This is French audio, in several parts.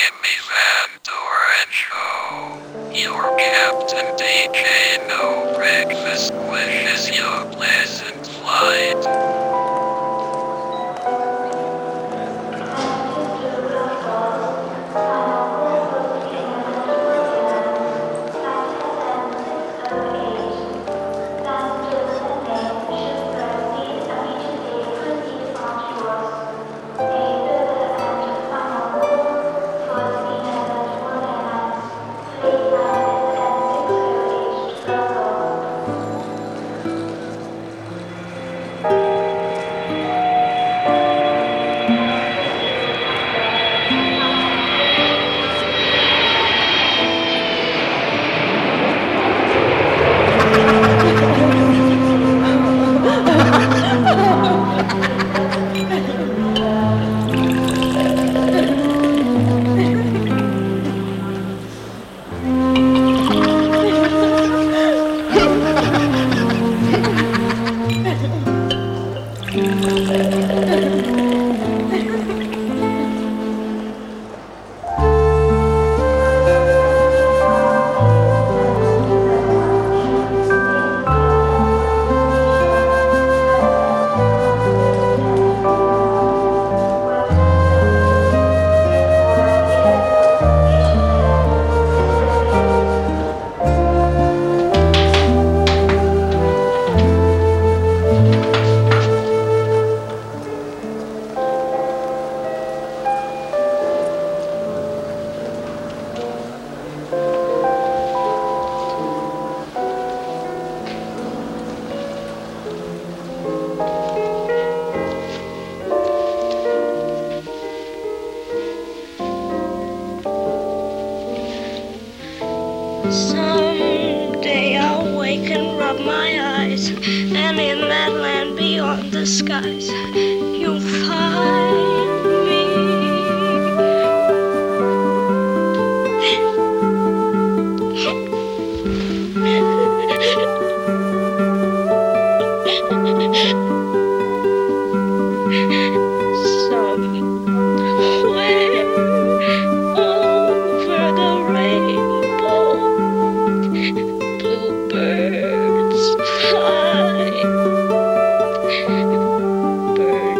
Jimmy Santorencho. Your Captain DJ No Breakfast wishes you a pleasant flight. Someday I'll wake and rub my eyes, and in that land beyond the skies, you'll find me. Somewhere over the rainbow, bluebirds fly, birds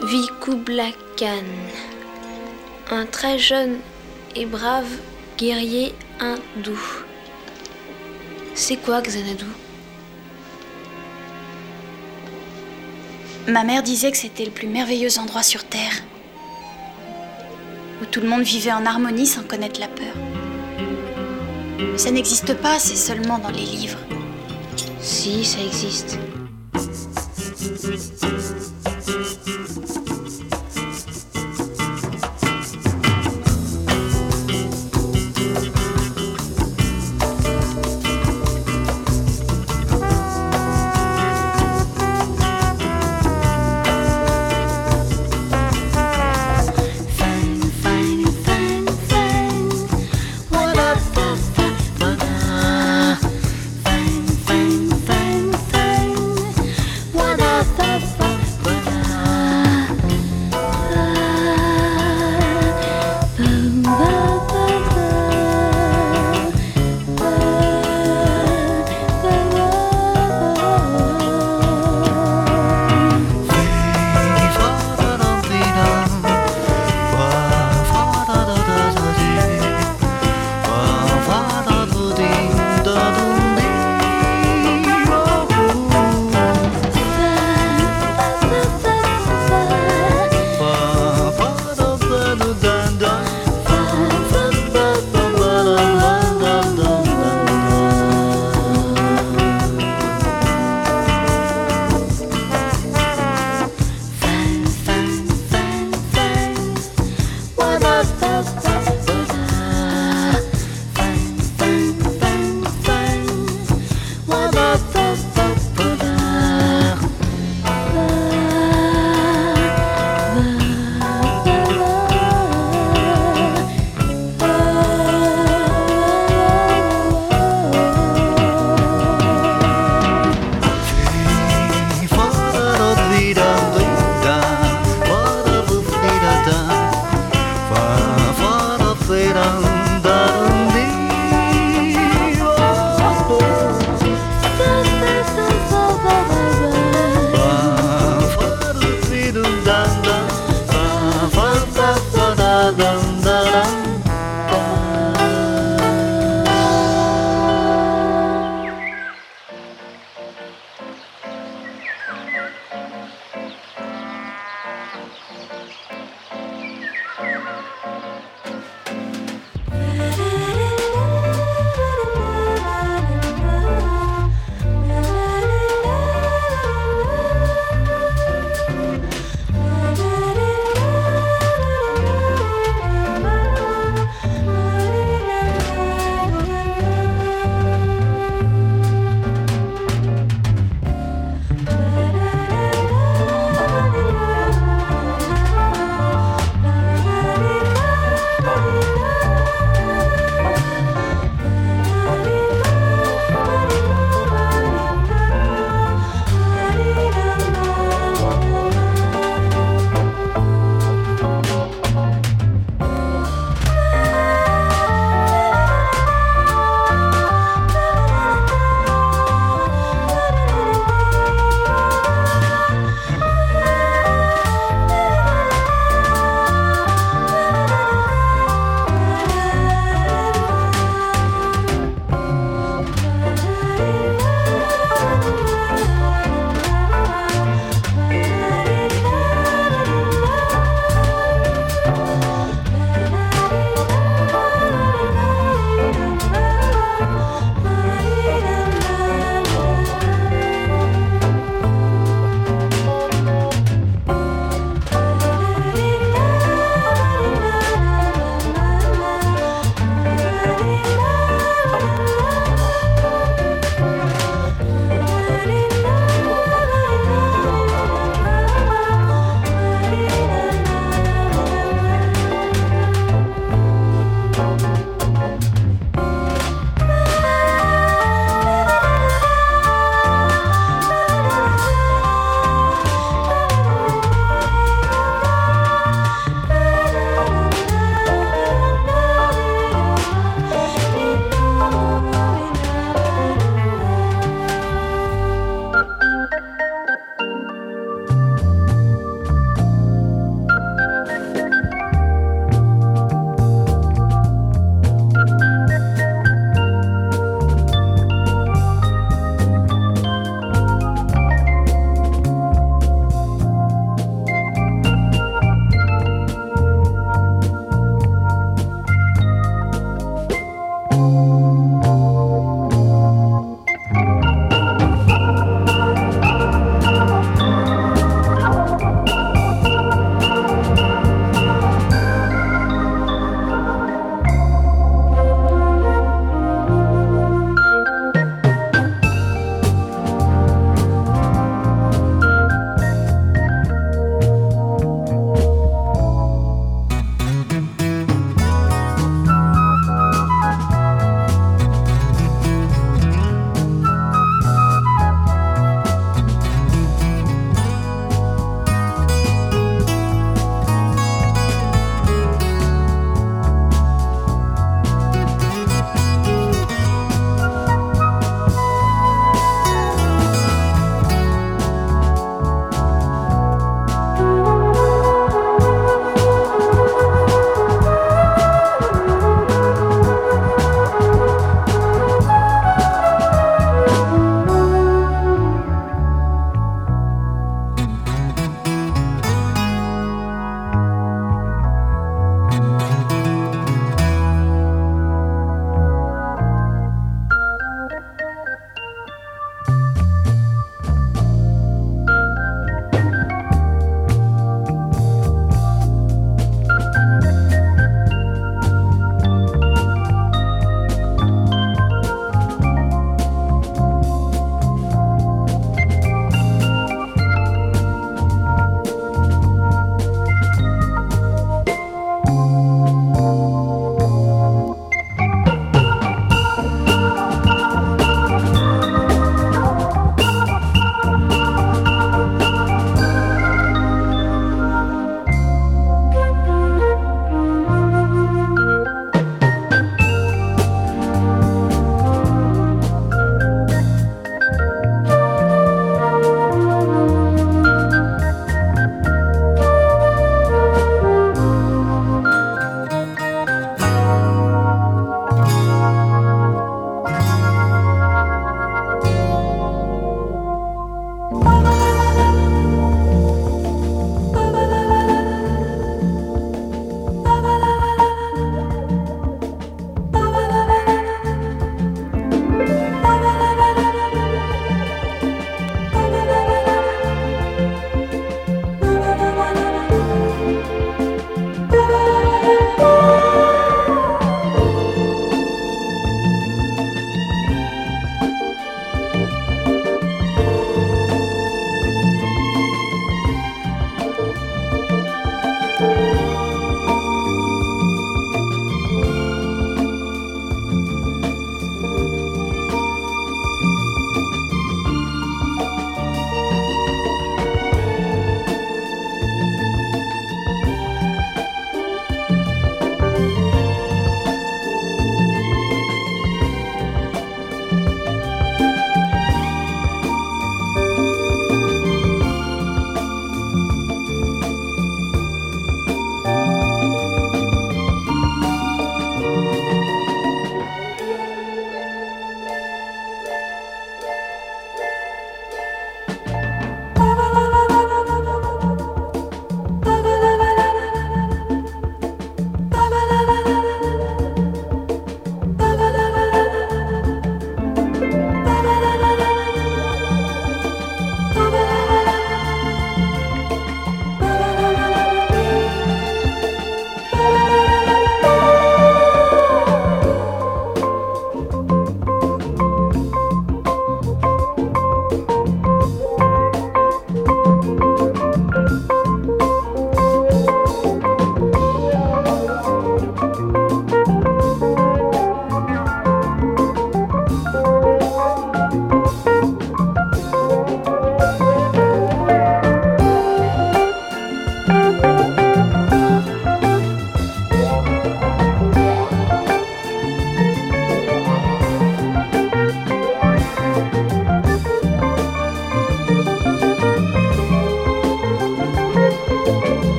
Kublai Khan, un très jeune et brave guerrier hindou. C'est quoi Xanadu? Ma mère disait que c'était le plus merveilleux endroit sur Terre, où tout le monde vivait en harmonie sans connaître la peur. Mais ça n'existe pas, c'est seulement dans les livres. Si, ça existe.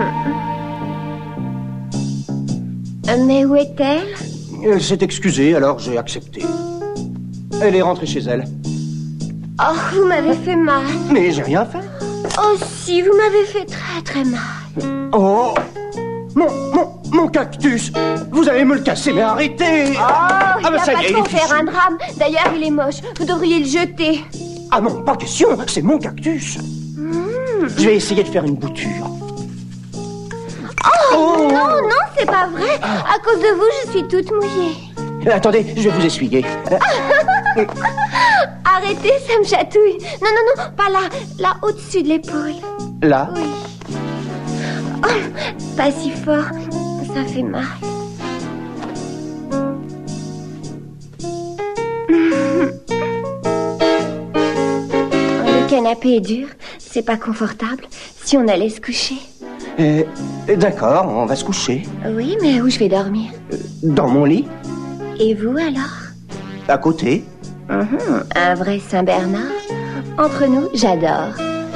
Mais où est-elle? Elle s'est excusée, alors j'ai accepté. Elle est rentrée chez elle. Oh, vous m'avez fait mal. Mais j'ai rien fait. Oh si, vous m'avez fait très très mal. Oh, mon cactus. Vous allez me le casser, mais arrêtez. Oh, il n'y a ça pas y est, de il quoi est faire fichu. un drame. D'ailleurs, il est moche. Vous devriez le jeter. Ah non, pas question, c'est mon cactus. Je vais essayer de faire une bouture. Oh, non, non, c'est pas vrai. À cause de vous, je suis toute mouillée. Attendez, je vais vous essuyer. Arrêtez, ça me chatouille. Non, non, non, pas là. Là, au-dessus de l'épaule. Là. Oui. Oh, pas si fort. Ça fait mal. Le canapé est dur. C'est pas confortable. Si on allait se coucher. D'accord, on va se coucher. Oui, mais où je vais dormir? Dans mon lit, Et vous alors? à côté. Un vrai Saint-Bernard? Entre nous, j'adore.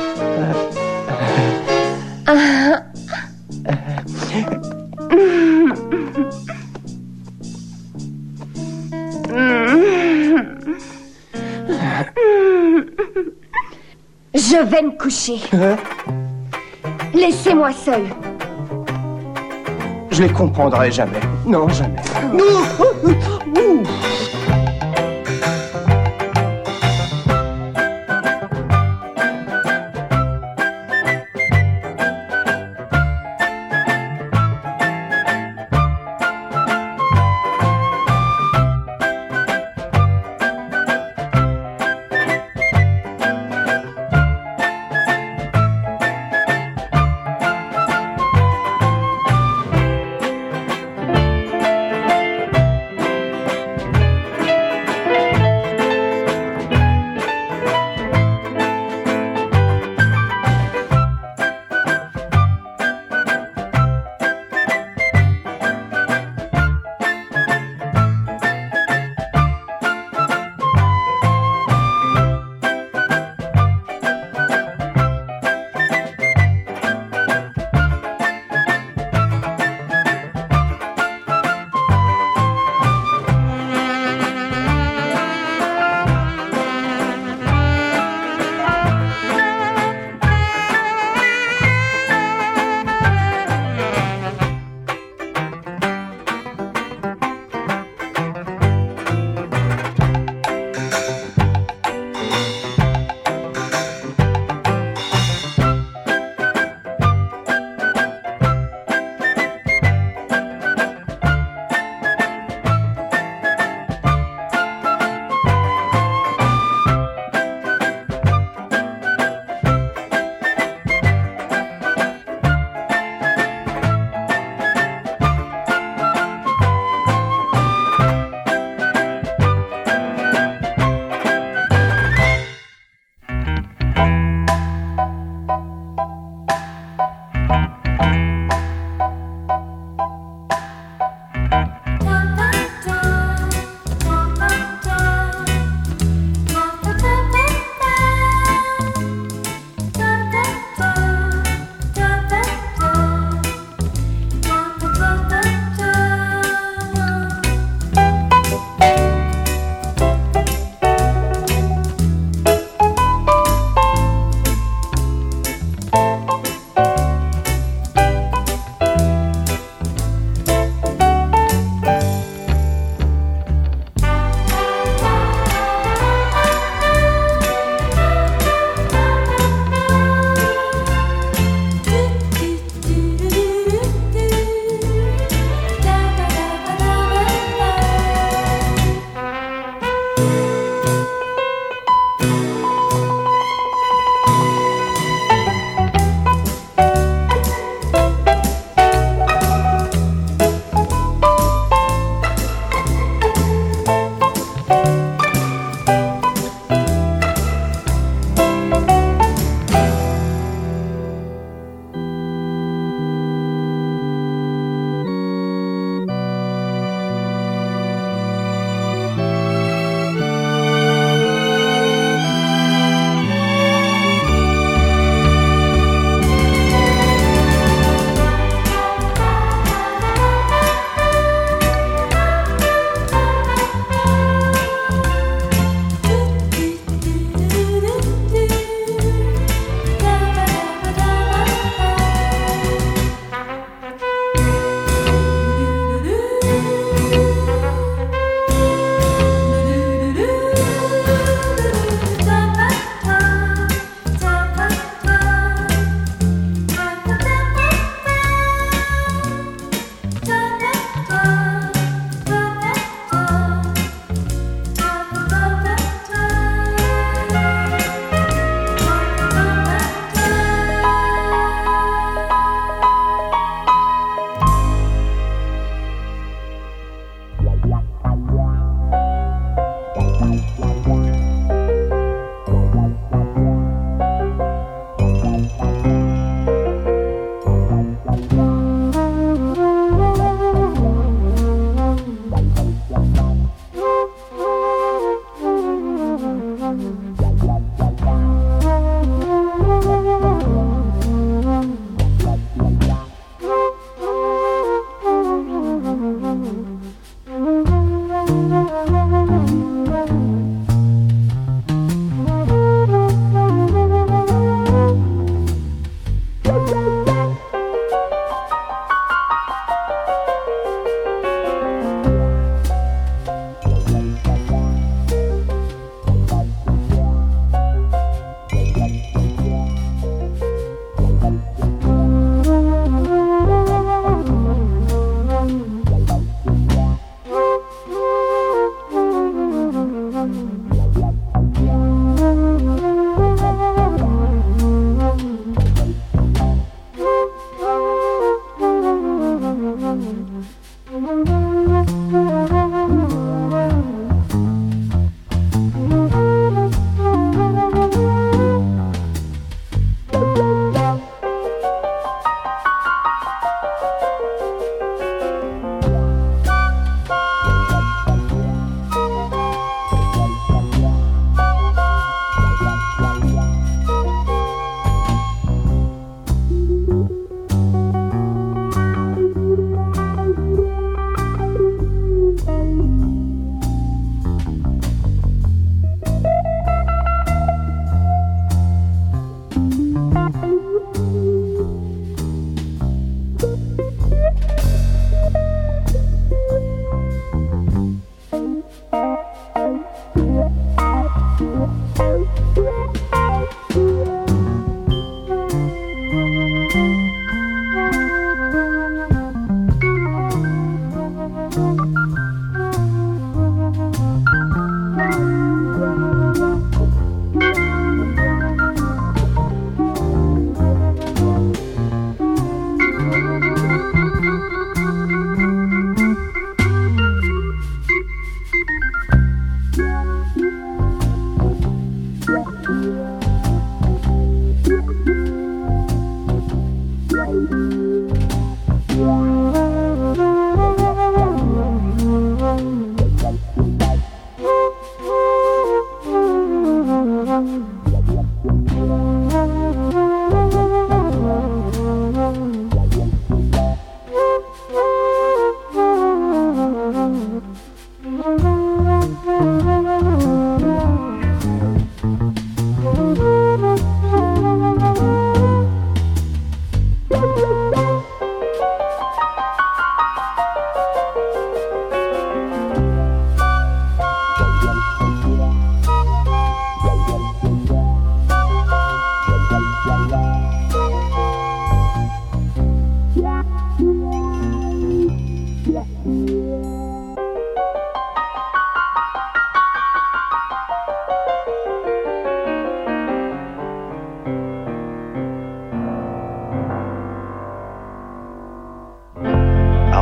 Je vais me coucher. Laissez-moi seule. Je les comprendrai jamais. Non, jamais.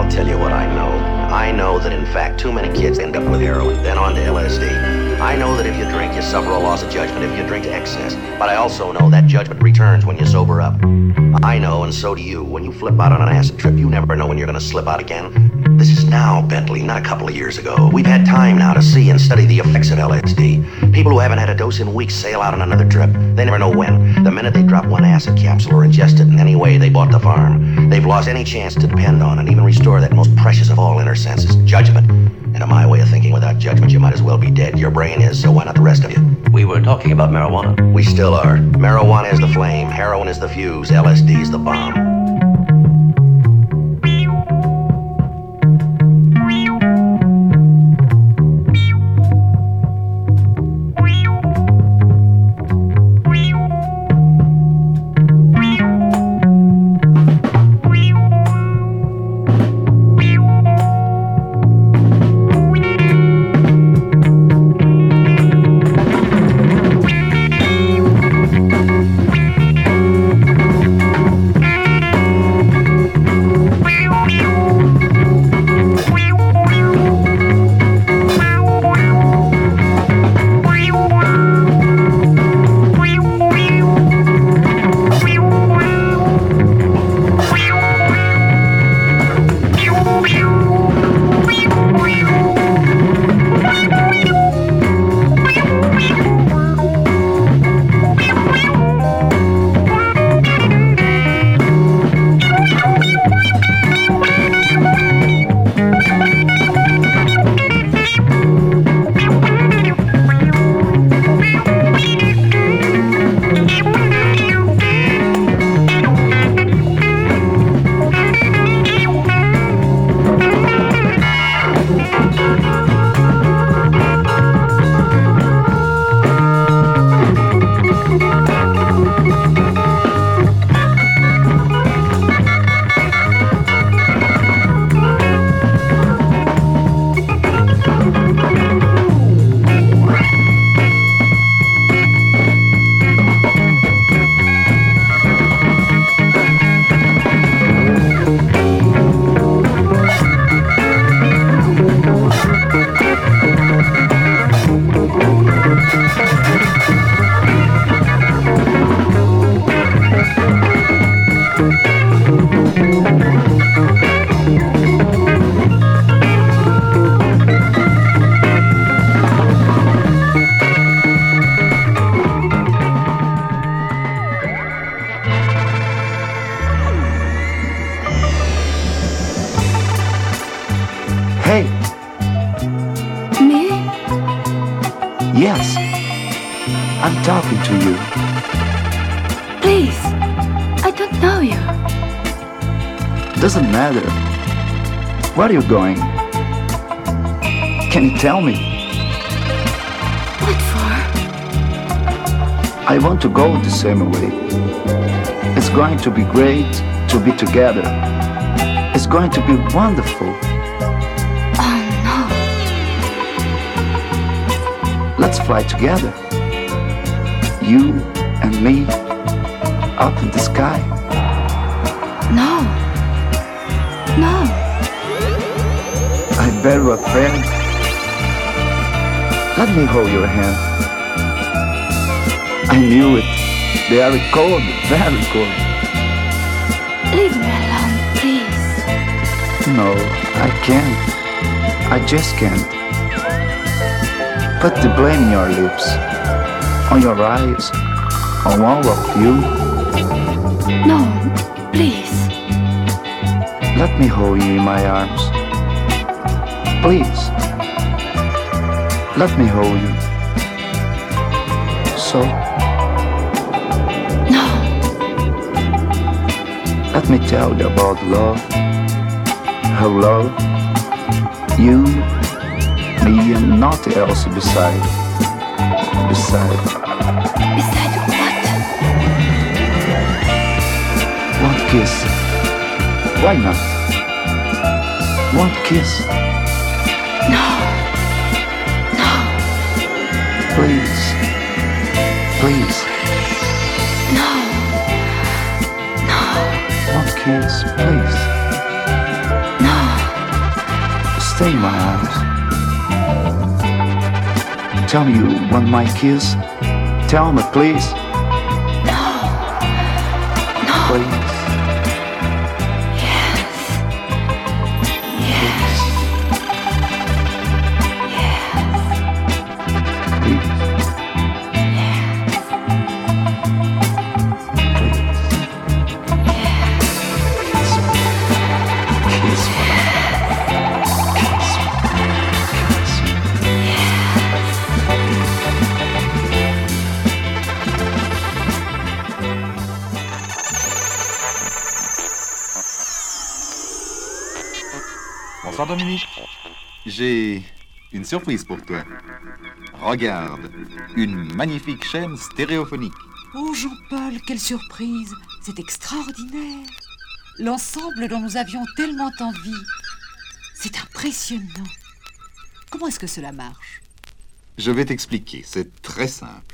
I'll tell you what I know. I know that, in fact, too many kids end up with heroin, then on to LSD. I know that if you drink, you suffer a loss of judgment if you drink to excess. But I also know that judgment returns when you sober up. I know, and so do you. When you flip out on an acid trip, you never know when you're going to slip out again. This is now, Bentley, not a couple of years ago. We've had time now to see and study the effects of LSD. People who haven't had a dose in weeks sail out on another trip. They never know when. The minute they drop one acid capsule or ingest it in any way they bought the farm, they've lost any chance to depend on and even restore that most precious of all inner senses, judgment. And in my way of thinking, without judgment, you might as well be dead. Your brain is, so why not the rest of you? We were talking about marijuana. We still are. Marijuana is the flame, heroin is the fuse, LSD is the bomb. Hey. Me? Yes. I'm talking to you. Please. I don't know you. Doesn't matter. Where are you going? Can you tell me? What for? I want to go the same way. It's going to be great to be together. It's going to be wonderful. Oh no. Let's fly together. You and me up in the sky. No. No. I bet you're afraid. Let me hold your hand. I knew it. They are cold, very cold. Leave me alone, please. No, I can't. I just can't. Put the blame in your lips, on your eyes, on all of you. No, please. Let me hold you in my arms. Please. Let me hold you. So. No. Let me tell you about love. How love, you, me, and nothing else beside. Beside. Beside what? One kiss. Why not? One kiss. No. No. Please. Please. No. No. One kiss, please. No. Stay in my arms. Tell me you want my kiss. Tell me, please. No. No. Please. Bonsoir Dominique. J'ai une surprise pour toi. Regarde, une magnifique chaîne stéréophonique. Oh Jean-Paul, quelle surprise! C'est extraordinaire! L'ensemble dont nous avions tellement envie. C'est impressionnant. Comment est-ce que cela marche? Je vais t'expliquer, c'est très simple.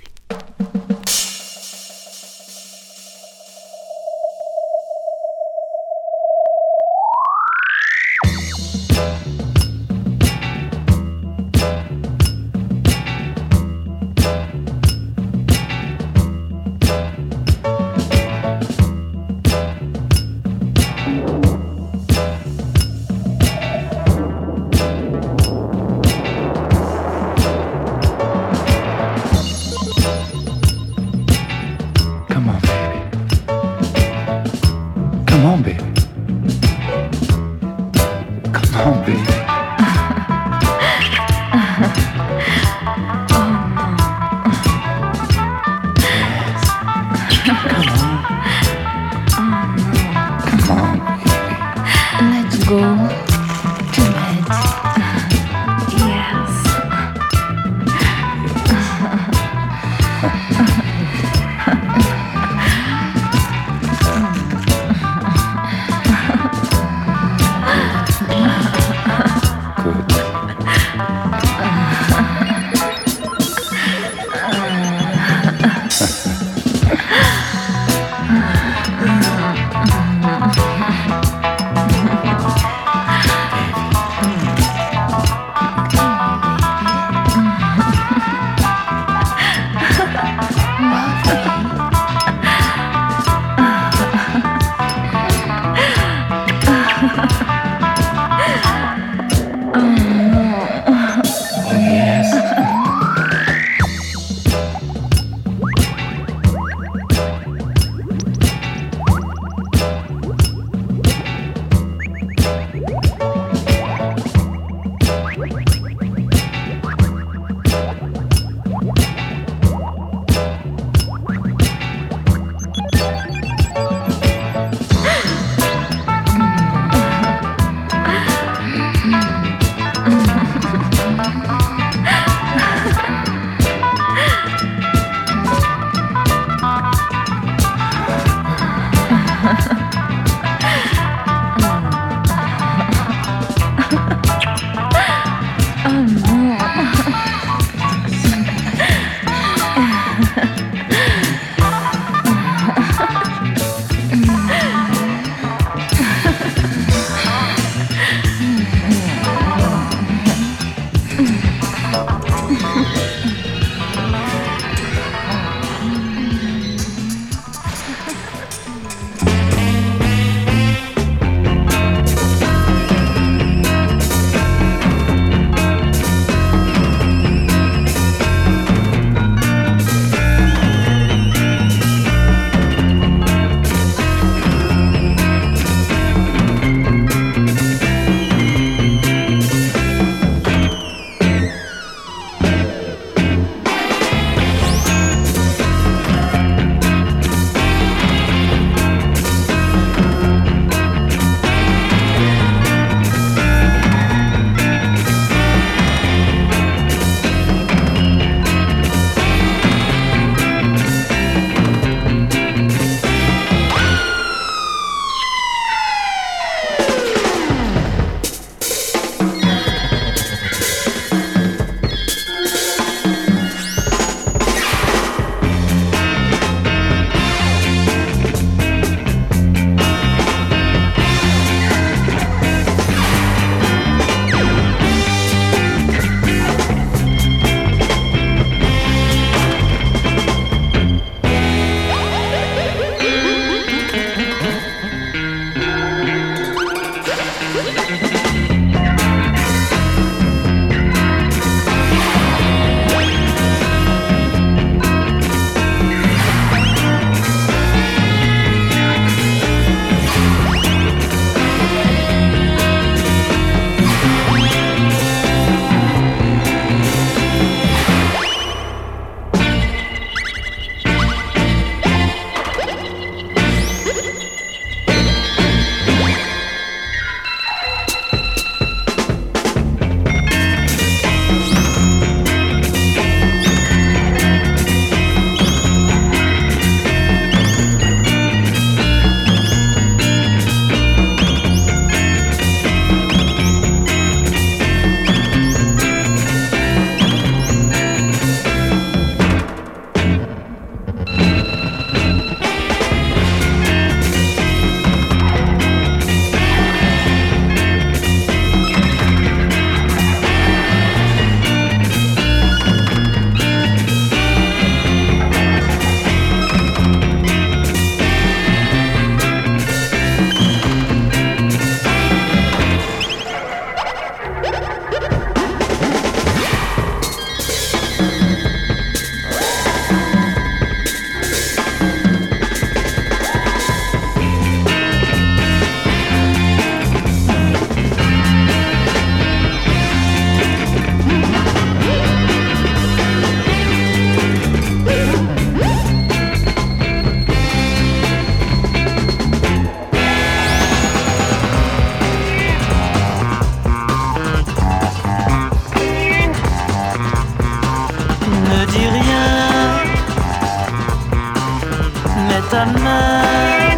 ta main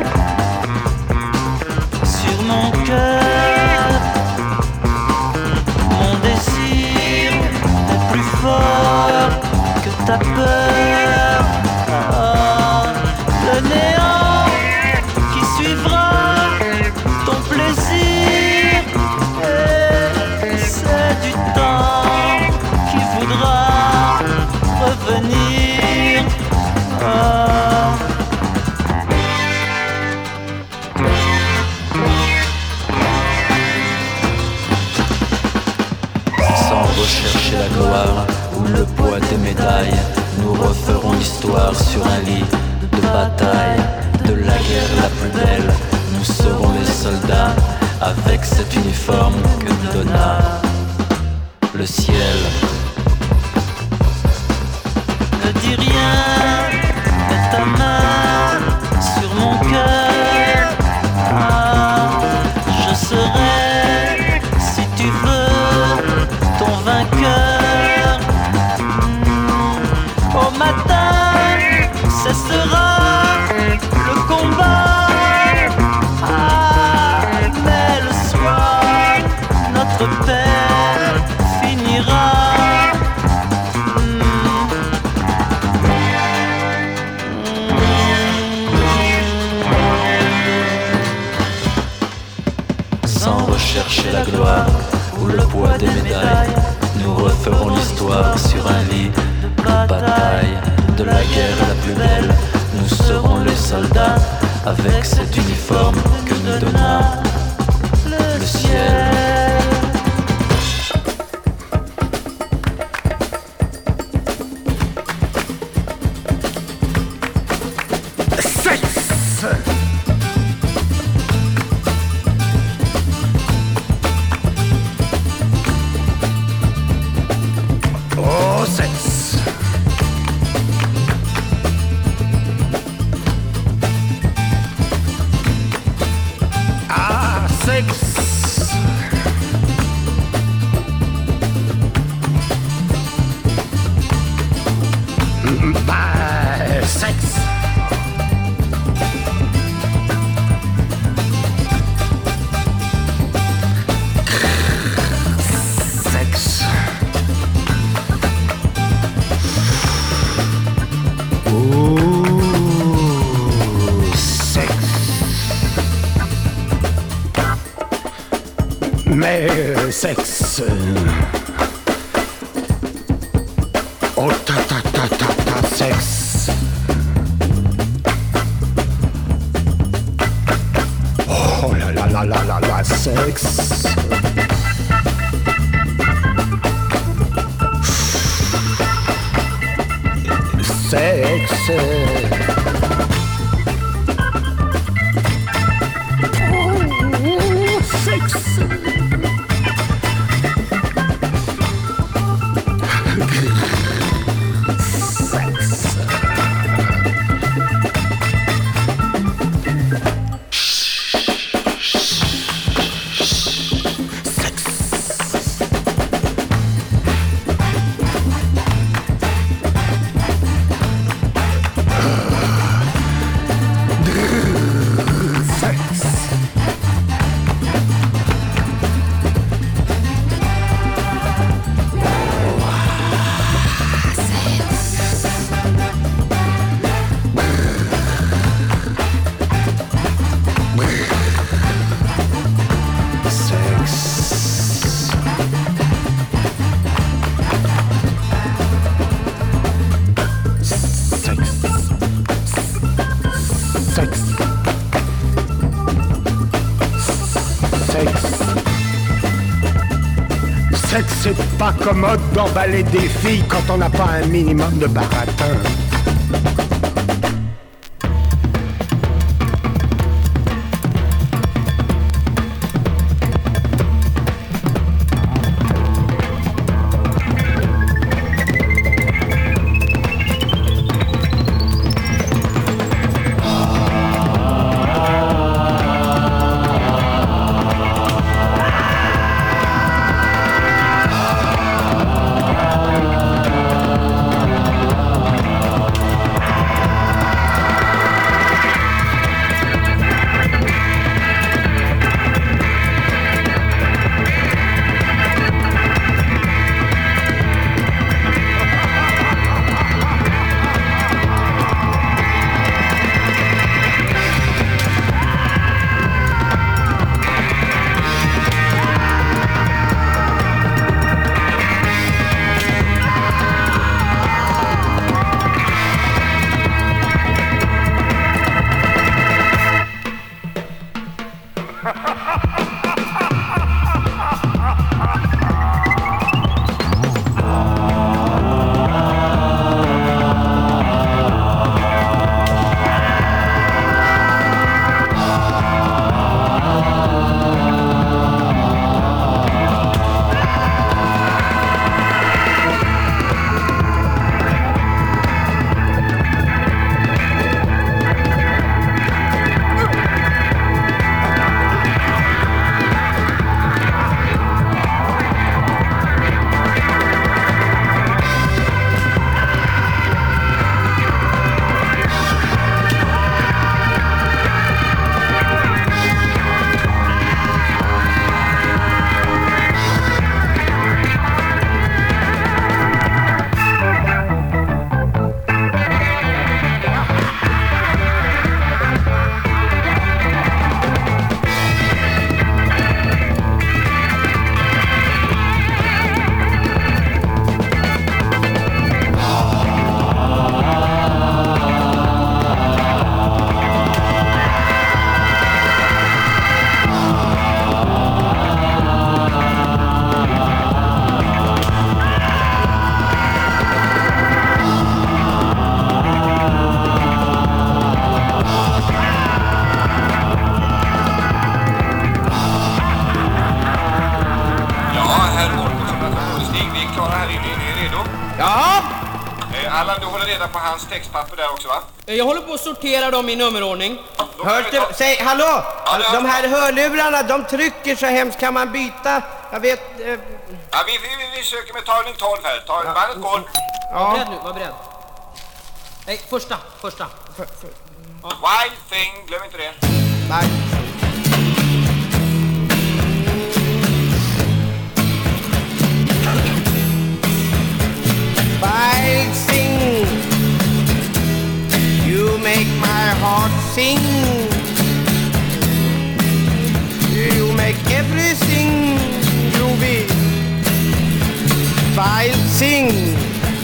sur mon cœur. Mon désir est plus fort que ta peur. Ah, le néant qui suivra ton plaisir, et c'est du temps qui voudra revenir. Ah. Sans rechercher la gloire ou le poids des médailles, nous referons l'histoire sur un lit de bataille. De la guerre la plus belle, nous serons les soldats avec cet uniforme que nous donna le ciel. Ne dis rien, mets ta main sur mon cœur. Ah, je serai, si tu veux, ton vainqueur. Au matin, cessera le combat. Ah, mais le soir, notre paix finira. Sans rechercher la gloire ou le poids des médailles, nous referons l'histoire sur un lit de bataille. De la guerre la plus belle, nous serons les soldats avec cet uniforme que nous donna le ciel. Sexe. Oh ta ta ta ta ta sexe. Oh la la la la la la sexe. Sexe. Oh, sexe. C'est pas commode d'emballer des filles quand on n'a pas un minimum de baratin. vi klara här inne. Är ni redo? Ja. Allan, du håller reda på hans textpapper där också, va? Jag håller på att sortera dem i nummerordning. Hörs det? Säg, hallå! De här hörlurarna, de trycker så hemskt. Kan man byta? Jag vet... Ja, vi söker med tagning 12 här. Bandet går. Ja. Var beredd. Nej, första. Wild thing, glöm inte det. Nej. Wild thing, you make my heart sing. You make everything groovy. Wild thing.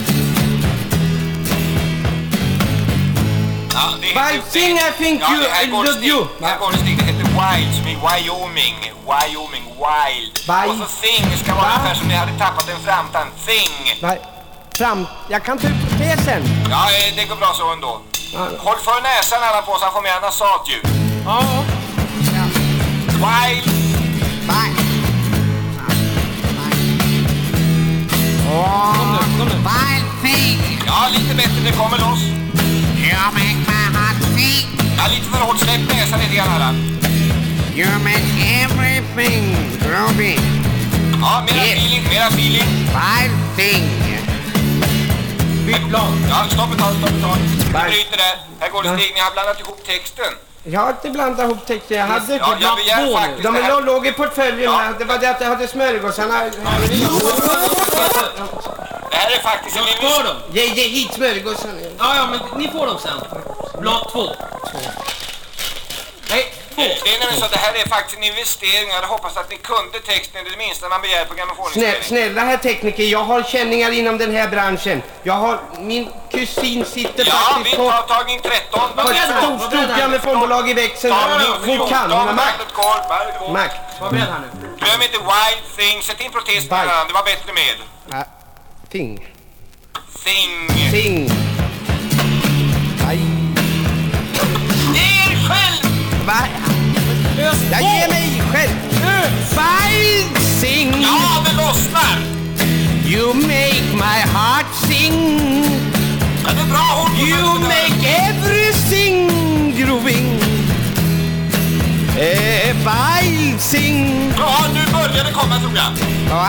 Wild thing, I think you love you. Här går det stig, det heter Wild, som i Wyoming, Wild. Och så thing ska vara ungefär som ni hade tappat en framtand, thing. Jag kan ta ut protesen. Ja, det går bra så ändå. Håll för näsan alla på så han får med nasatljud. Ja. Wild. Kom nu. Wild thing. Ja, lite bättre, det kommer loss. You make my heart sing. Ja, lite för hårt, släpp näsan lite grann här. You make everything groovy. Ja, mera feeling. Wild thing. Byt plan. Ja, stopp ett tag. Vi bryter där. Här går det steg, ni har blandat ihop texten. Jag har inte blandat ihop texten. Jag hade jag begär faktiskt de låg i portföljen här. Det var det att jag hade smörgåsarna. Det här är faktiskt en investering. Ge hit smörgåsarna. Ja, men ni får dem sen. Blad 2. Nej, 2. Det är nämligen så att det här är faktiskt en investering. Jag hade hoppats att ni kunde texten, det minsta man begär på grammofoninspelning. Snälla herr tekniker, jag har känningar inom den här branschen. Min kusin sitter faktiskt på... Ja, vi tar tagning 13. Stort grammofonbolag i växeln. Hon kan, hon har makt. Vad beredd här nu? Glöm inte Wild thing, sätt in protest på den, det var bättre med. Thing. Aj. Ge er själv! Va? Jag ger mig själv. Wild thing. Ja, det lossnar. You make my heart sing. Ja, det är bra. You make everything grooving. Wild thing. Ja, nu börjar det komma, tror jag. Ja.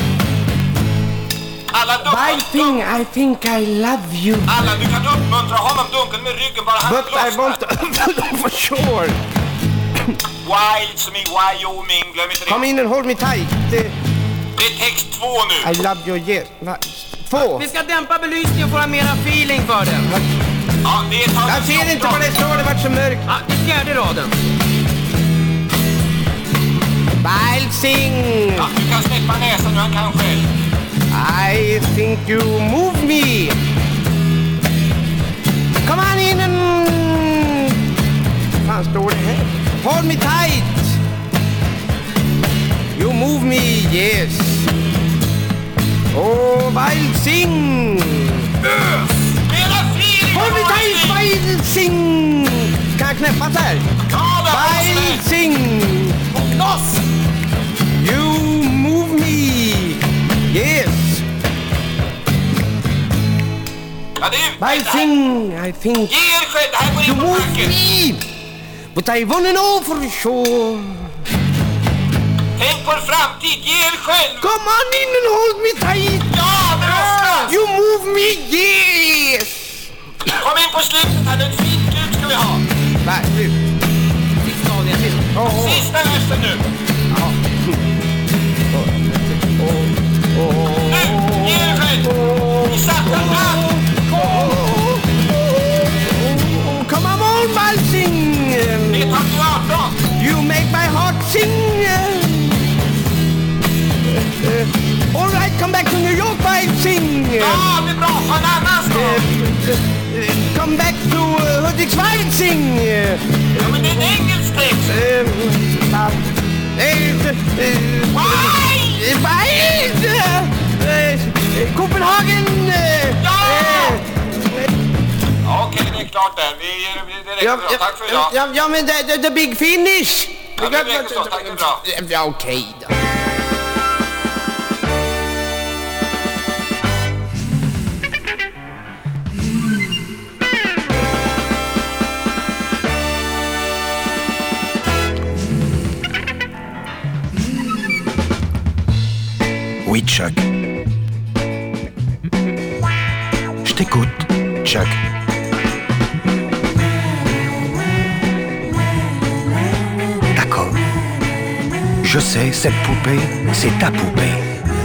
Wild thing, I think I love you. Alla, du kan uppmuntra honom, dunkel med ryggen, bara han lossnar. For sure. Wild som i Wyoming, glöm inte det. Kom in and hold me tight. Det är text 2 nu. I love you, yes. 2. Vi ska dämpa belysningen och få mera feeling för det. Ja, det är jag ser inte vad det står, det vart så mörkt. Ja, det är fjärde raden. Wild thing. Ja, du kan släppa näsan nu, han kan själv. I think you move me. Come on in and... Vad står det här? Hold me tight. You move me, yes. Oh, wild thing. Hold me tight, wild thing. Kan jag knäppa där? Wild thing. Loss. You move me, yes. Wild thing, I think. Ge er själv, det här går in på marken. But I wanna know for sure. Tänk på er framtid, ge er själv. Come on in and hold me tight. Ja, det lossnas. You move me, yes. Kom in på slutet här, ett fint slut ska vi ha. Nej, slut. Sista versen nu. Nu, ge er själv. Vi satte allt. Come on, wild thing. Det är tagning 18. You make my heart sing. All right, come back to New York, wild thing. Ja, det är bra. På en annan stad. Come back to Hudiksvall, sing. Ja, men det är en engelsk text. Copenhagen. Ja! Okej, det är klart där. Det räcker bra. Tack för idag. Ja, men the big finish. Ja, det räcker så. Tack för idag. Ja, okej då. Oui, Chuck. Je t'écoute, Chuck. D'accord. Je sais, cette poupée, c'est ta poupée.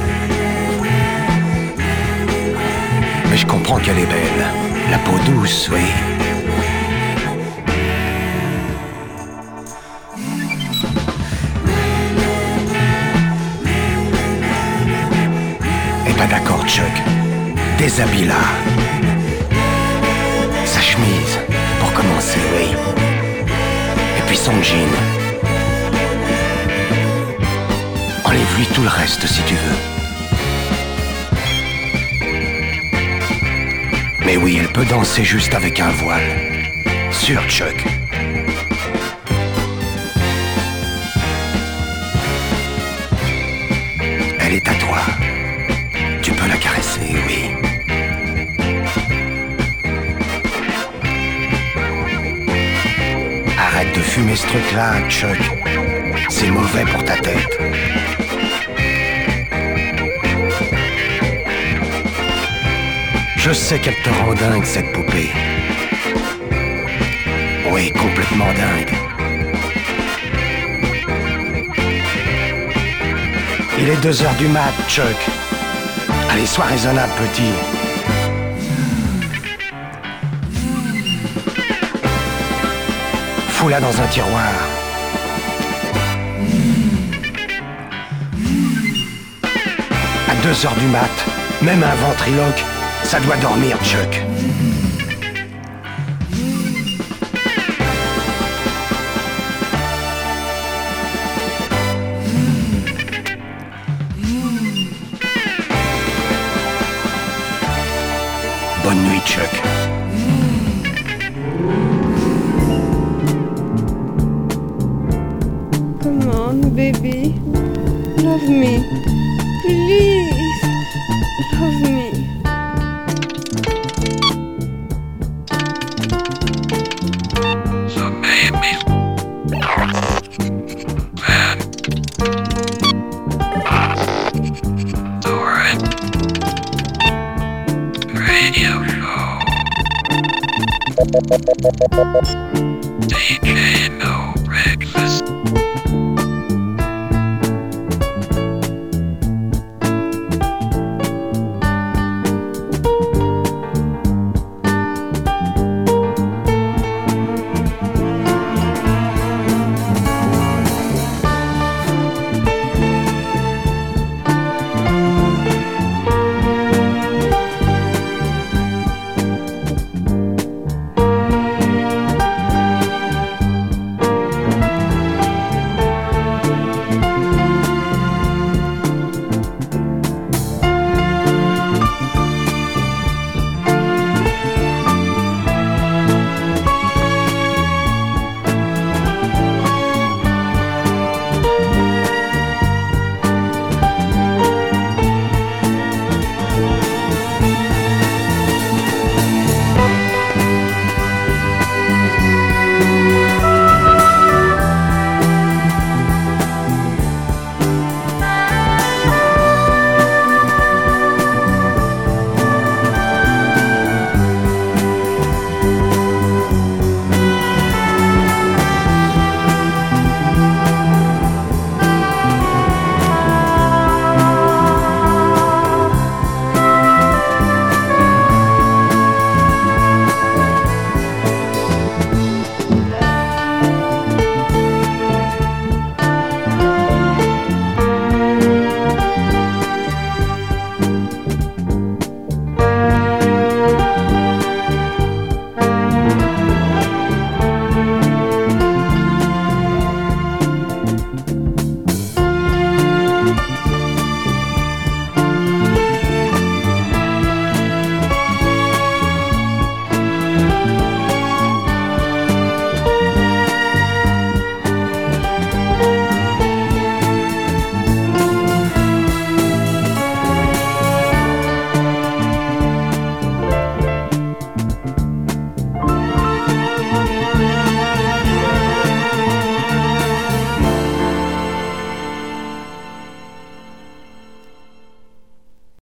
Mais je comprends qu'elle est belle. La peau douce, oui. Eh ben d'accord, Chuck. Déshabille-la. Sa chemise, pour commencer, oui. Et puis son jean. Enlève-lui tout le reste si tu veux. Mais oui, elle peut danser juste avec un voile. Sûr, Chuck. Elle est à toi. Tu peux la caresser, oui. Arrête de fumer ce truc-là, Chuck. C'est mauvais pour ta tête. Je sais qu'elle te rend dingue, cette poupée. Oui, complètement dingue. Il est 2h du mat, Chuck. Allez, sois raisonnable, petit. Fous-la dans un tiroir. À 2h du mat, même un ventriloque, ça doit dormir, Chuck. Bonne nuit, Chuck. Come on, baby. Love me. Please. Love me. So baby. Man. Doran. Radio show. DJ No Breakfast.